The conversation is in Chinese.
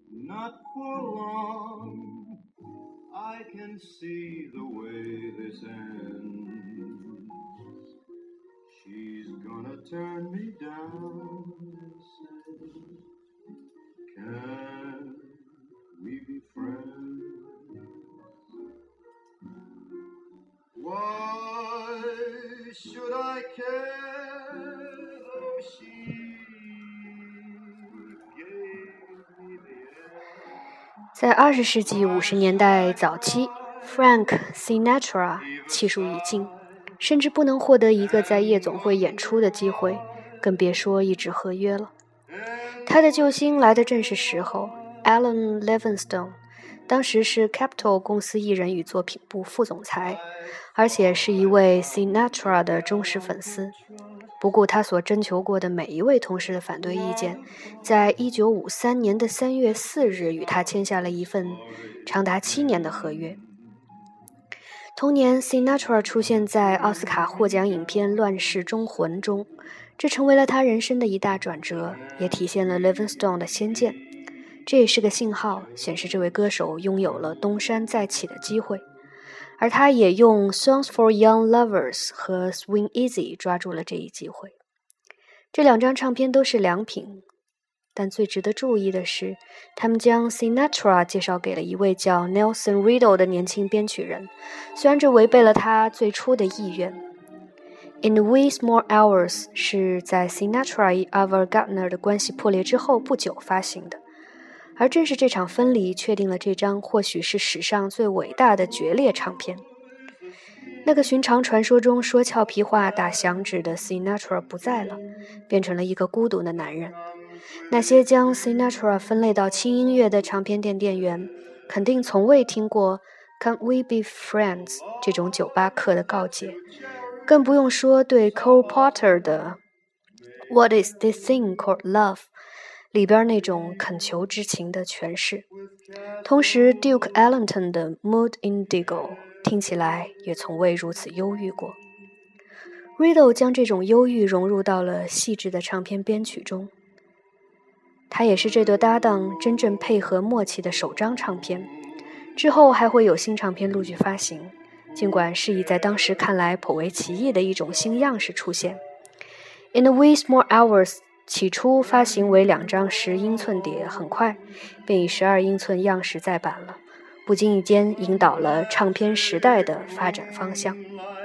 Not for long, I can see the way this ends. She's gonna turn me down and say, can we be friends? Why should I care though she gave me the air? 在20世纪50年代早期 ，Frank Sinatra 气数已尽，甚至不能获得一个在夜总会演出的机会，更别说一纸合约了。他的救星来的正是时候 ，Alan Livingston， 当时是 Capitol 公司艺人与作品部副总裁，而且是一位 Sinatra 的忠实粉丝。不顾他所征求过的每一位同事的反对意见，在1953年的3月4日与他签下了一份长达7年的合约。同年 Sinatra 出现在奥斯卡获奖影片《乱世忠魂》中，这成为了他人生的一大转折，也体现了 Livingstone 的先见。这也是个信号，显示这位歌手拥有了东山再起的机会。而他也用 Songs for Young Lovers 和 Swing Easy 抓住了这一机会。这两张唱片都是良品，但最值得注意的是，他们将 Sinatra 介绍给了一位叫 Nelson Riddle 的年轻编曲人，虽然这违背了他最初的意愿。In the Wee Small Hours 是在 Sinatra 与 Ava Gardner 的关系破裂之后不久发行的。而正是这场分离确定了这张或许是史上最伟大的决裂唱片。那个寻常传说中说俏皮话打响指的 Sinatra 不在了，变成了一个孤独的男人。那些将 Sinatra 分类到轻音乐的唱片店店员肯定从未听过 Can't We Be Friends 这种酒吧客的告诫，更不用说对 Cole Porter 的 What is this thing called love里边那种恳求之情的诠释。同时 Duke Ellington 的 Mood Indigo 听起来也从未如此忧郁过。Riddle 将这种忧郁融入到了细致的唱片编曲中，他也是这对搭档真正配合默契的首张唱片，之后还会有新唱片陆续发行，尽管是以在当时看来颇为奇异的一种新样式出现。In the Wee Small Hours起初发行为2张10英寸碟，很快便以12英寸样式再版了，不经意间引导了唱片时代的发展方向。